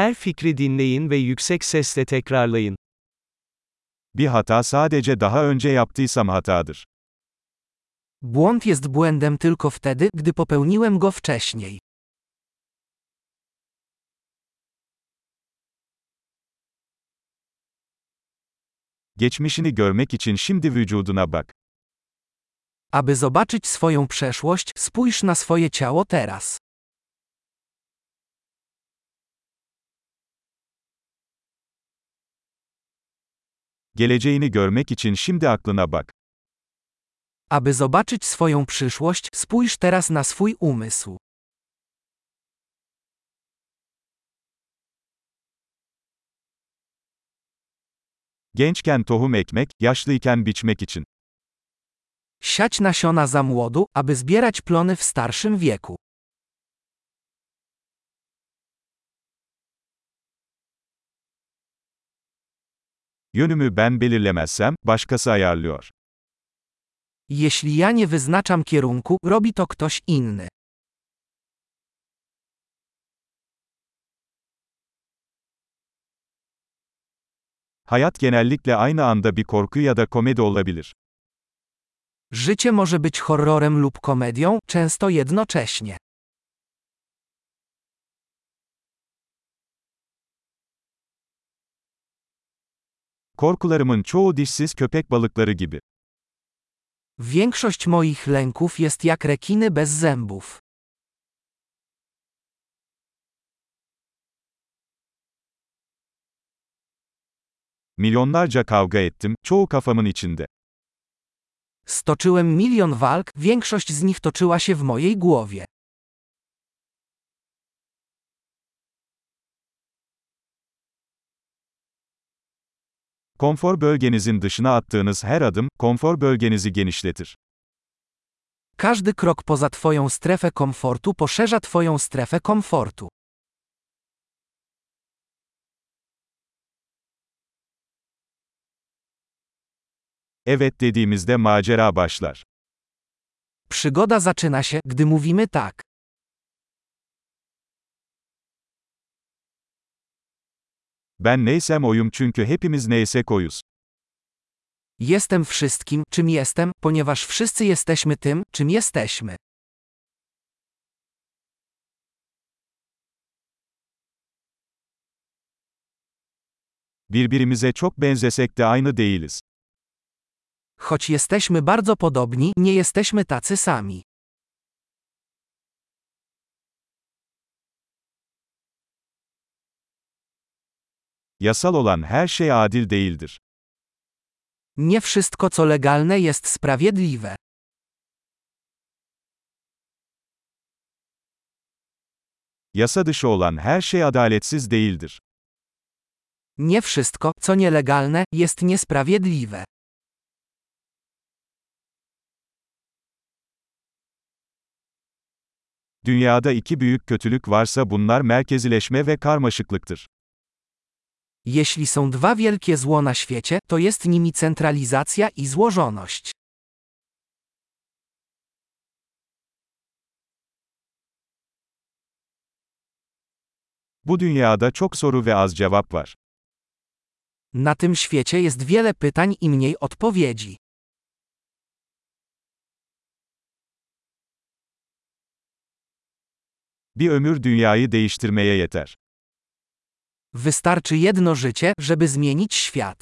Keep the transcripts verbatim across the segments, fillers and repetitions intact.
Her fikri dinleyin ve yüksek sesle tekrarlayın. Bir hata sadece daha önce yaptıysam hatadır. Błąd jest błędem tylko wtedy, gdy popełniłem go wcześniej. Geçmişini görmek için şimdi vücuduna bak. Aby zobaczyć swoją przeszłość, spójrz na swoje ciało teraz. Geleceğini görmek için şimdi aklına bak. Aby zobaczyć swoją przyszłość, spójrz teraz na swój umysł. Gençken tohum ekmek, yaşlıyken biçmek için. Siać nasiona za młodu, aby zbierać plony w starszym wieku. Yönümü ben belirlemezsem, başkası ayarlıyor. Jeśli ja nie wyznaczam kierunku, robi to ktoś inny. Hayat genellikle aynı anda bir korku ya da komedi olabilir. Życie może być horrorem lub komedią, często jednocześnie. Korkularımın çoğu dişsiz köpek balıkları gibi. Większość moich lęków jest jak rekiny bez zębów. Milyonlarca kavga ettim, çoğu kafamın içinde. Stoczyłem milion walk, większość z nich toczyła się w mojej głowie. Konfor bölgenizin dışına attığınız her adım, konfor bölgenizi genişletir. Każdy krok poza twoją strefę komfortu poszerza twoją strefę komfortu. Evet dediğimizde macera başlar. Przygoda zaczyna się, gdy mówimy tak. Ben neysem oyum çünkü hepimiz neysek oyuz. Jestem wszystkim, czym jestem, ponieważ wszyscy jesteśmy tym, czym jesteśmy. Birbirimize çok benzesek de aynı değiliz. Choć jesteśmy bardzo podobni, nie jesteśmy tacy sami. Yasal olan her şey adil değildir. Nie wszystko co legalne jest sprawiedliwe. Yasa dışı olan her şey adaletsiz değildir. Nie wszystko, co nielegalne, jest niesprawiedliwe. Dünyada iki büyük kötülük varsa bunlar merkezileşme ve karmaşıklıktır. Jeśli są dwa wielkie zło na świecie, to jest nimi centralizacja i złożoność. Bu dünyada çok soru ve az cevap var. Na tym świecie jest wiele pytań i mniej odpowiedzi. Bir ömür dünyayı değiştirmeye yeter. Wystarczy jedno życie, żeby zmienić świat.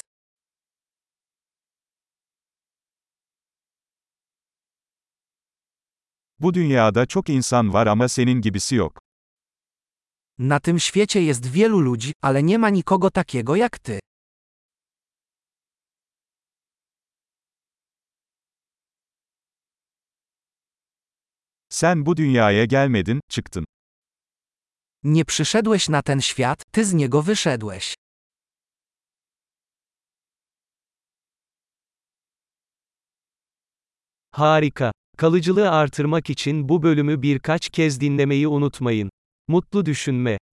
Bu dünyada çok insan var ama senin gibisi yok. Na tym świecie jest wielu ludzi, ale nie ma nikogo takiego jak ty. Sen bu dünyaya gelmedin, çıktın. Nie przyszedłeś na ten świat, ty z niego wyszedłeś. Harika. Kalıcılığı artırmak için bu bölümü birkaç kez dinlemeyi unutmayın. Mutlu düşünme.